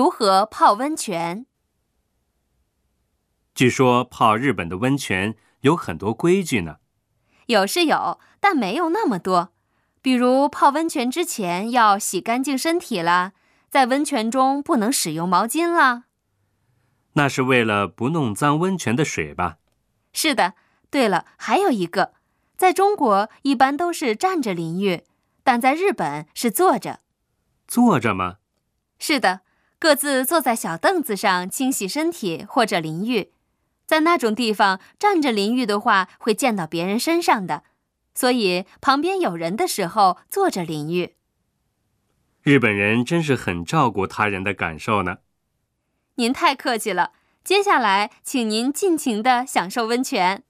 如何泡温泉？ 据说泡日本的温泉有很多规矩呢。 有是有，但没有那么多。比如泡温泉之前要洗干净身体啦，在温泉中不能使用毛巾啦。 那是为了不弄脏温泉的水吧？ 是的。对了，还有一个，在中国一般都是站着淋浴，但在日本是坐着。 坐着吗？ 是的，各自坐在小凳子上清洗身体或者淋浴。在那种地方，站着淋浴的话会溅到别人身上的，所以旁边有人的时候坐着淋浴。 日本人真是很照顾他人的感受呢。 您太客气了，接下来请您尽情地享受温泉。